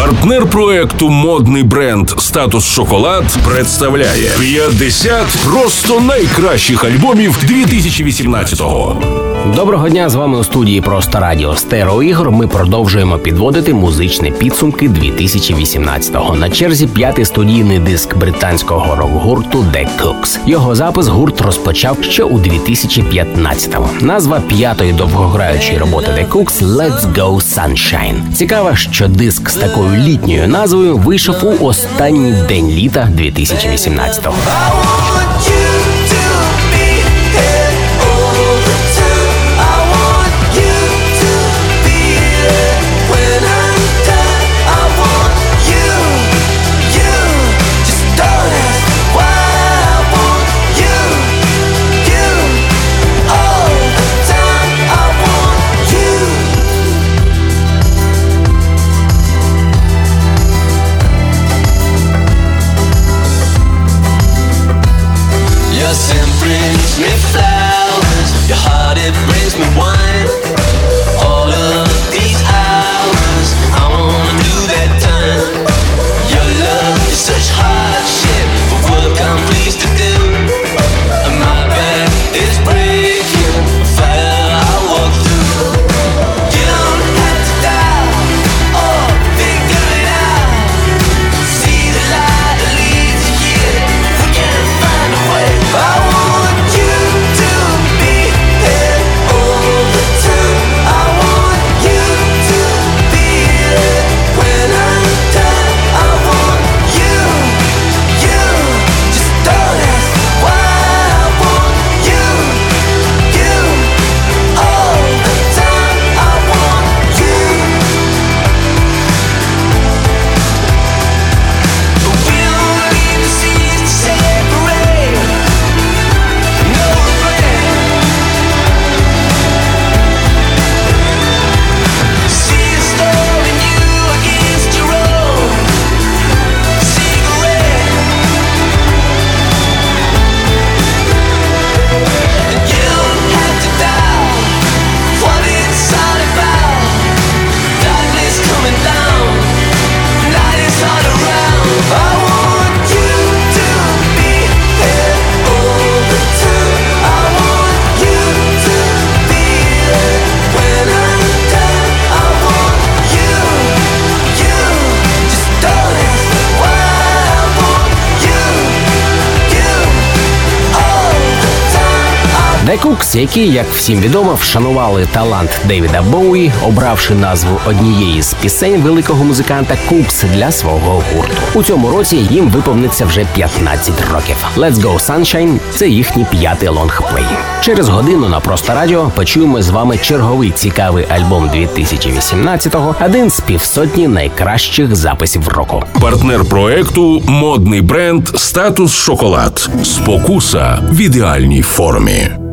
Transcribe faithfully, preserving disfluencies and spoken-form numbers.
Партнер проекту модний бренд «Статус Шоколад» представляє п'ятдесят просто найкращих альбомів дві тисячі вісімнадцятого. Доброго дня, з вами у студії «Просто радіо» Стереоігор. Ми продовжуємо підводити музичні підсумки дві тисячі вісімнадцятого. На черзі п'ятий студійний диск британського рок-гурту The Kooks. Його запис гурт розпочав ще у дві тисячі п'ятнадцятому. Назва п'ятої довгограючої роботи The Kooks – Let's Go Sunshine. Цікаво, що диск з такою літньою назвою вийшов у останній день літа дві тисячі вісімнадцятого. The Kooks, які, як всім відомо, вшанували талант Девіда Боуї, обравши назву однієї з пісень великого музиканта Кукс для свого гурту. У цьому році їм виповниться вже п'ятнадцять років. Let's Go Sunshine – це їхній п'ятий лонгплей. Через годину на «Просто радіо» почуємо з вами черговий цікавий альбом дві тисячі вісімнадцятого, один з півсотні найкращих записів року. Партнер проекту модний бренд «Статус Шоколад». Спокуса в ідеальній формі.